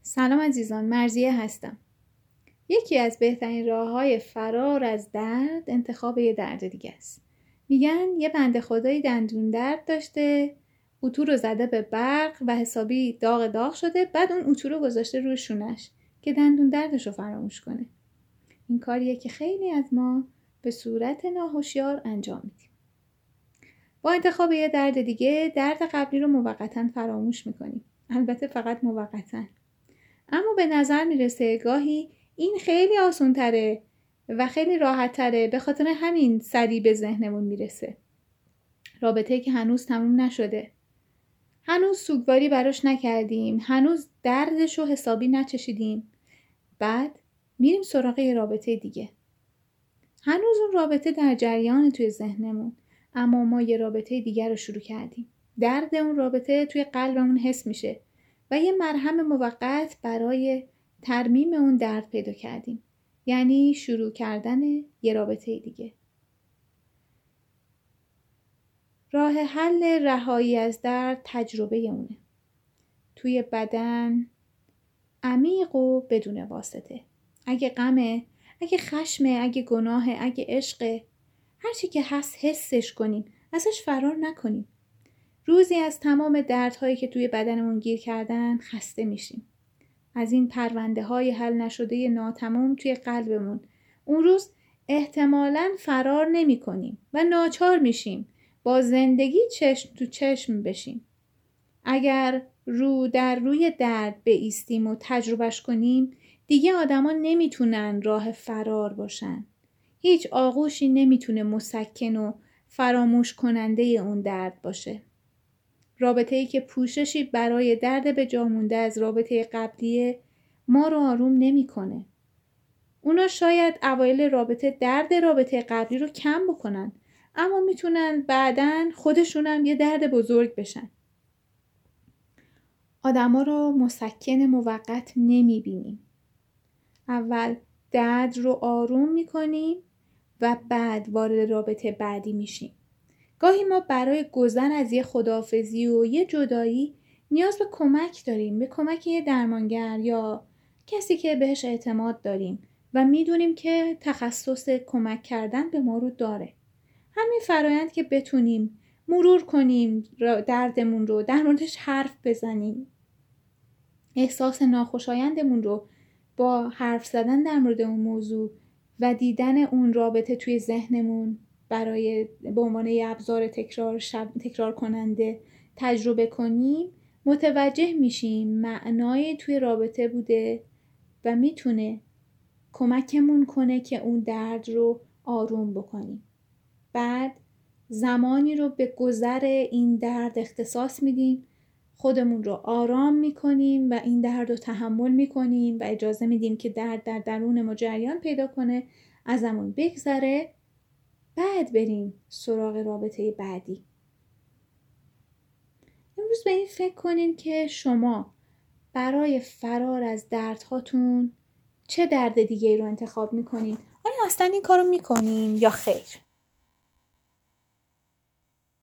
سلام عزیزان، مرضیه هستم. یکی از بهترین راه‌های فرار از درد انتخاب یه درد دیگه است. میگن یه بنده خدایی دندون درد داشته، اتو رو زده به برق و حسابی داغ شده، بعد اون اتو رو گذاشته روی شونش که دندون دردش رو فراموش کنه. این کاریه که خیلی از ما به صورت ناهوشیار انجام میدیم. با انتخاب یه درد دیگه درد قبلی رو موقتاً فراموش میکنیم. البته فقط موقتاً. اما به نظر میرسه گاهی این خیلی آسان تره و خیلی راحت تره، به خاطر همین سریع به ذهنمون میرسه. رابطه‌ای که هنوز تموم نشده، هنوز سوگواری براش نکردیم، هنوز دردش رو حسابی نچشیدیم، بعد میریم سراغ یه رابطه دیگه. هنوز اون رابطه در جریان توی ذهنمون، اما ما یه رابطه دیگر رو شروع کردیم. درد اون رابطه توی قلبمون حس میشه و یه مرهم موقت برای ترمیم اون درد پیدا کردیم. یعنی شروع کردن یه رابطه دیگه. راه حل رهایی از درد تجربه اونه. توی بدن، عمیق و بدون واسطه. اگه غمه، اگه خشمه، اگه گناهه، اگه عشقه، هر چی که هست حسش کنیم، ازش فرار نکنیم. روزی از تمام دردهایی که توی بدنمون گیر کردن خسته میشیم. از این پرونده های حل نشده ناتمام توی قلبمون. اون روز احتمالاً فرار نمی کنیم و ناچار میشیم با زندگی چشم تو چشم بشیم. اگر رو در روی درد بایستیم و تجربهش کنیم، دیگه آدما نمیتونن راه فرار باشن. هیچ آغوشی نمیتونه مسکن و فراموش کننده اون درد باشه. رابطه‌ای که پوششی برای درد به جا مونده از رابطه قبلی ما رو آروم نمی‌کنه. اونا شاید اوایل درد رابطه قبلی رو کم بکنن، اما میتونن بعداً خودشونم یه درد بزرگ بشن. آدما رو مسکن موقت نمی‌بینیم. اول درد رو آروم می‌کنیم و بعد وارد رابطه بعدی میشیم. گاهی ما برای گذر از یه خداحافظی و یه جدایی نیاز به کمک داریم، به کمک یه درمانگر یا کسی که بهش اعتماد داریم و میدونیم که تخصص کمک کردن به ما رو داره. همین فرایند که بتونیم مرور کنیم دردمون رو، در موردش حرف بزنیم، احساس ناخوشایندمون رو با حرف زدن در مورد اون موضوع و دیدن اون رابطه توی ذهنمون برای به عنوان یه ابزار تکرار کننده تجربه کنیم، متوجه میشیم معنای توی رابطه بوده و میتونه کمکمون کنه که اون درد رو آروم بکنیم. بعد زمانی رو به گذر این درد اختصاص میدیم، خودمون رو آرام میکنیم و این درد رو تحمل میکنیم و اجازه میدیم که درد در درون ما جریان پیدا کنه، ازمون بگذره، بعد بریم سراغ رابطه بعدی. امروز به این فکر کنین که شما برای فرار از دردهاتون چه درد دیگه رو انتخاب میکنین؟ آیا اصلا این کارو میکنین یا خیر؟